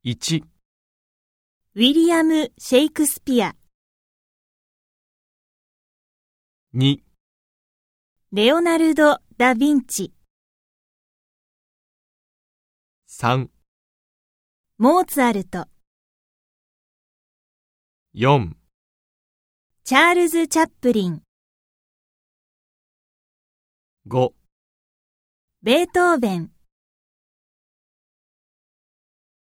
1、 ウィリアム・シェイクスピア、 2、 レオナルド・ダ・ヴィンチ、 3、 モーツァルト、 4、 チャールズ・チャップリン、 5 ベートーベン。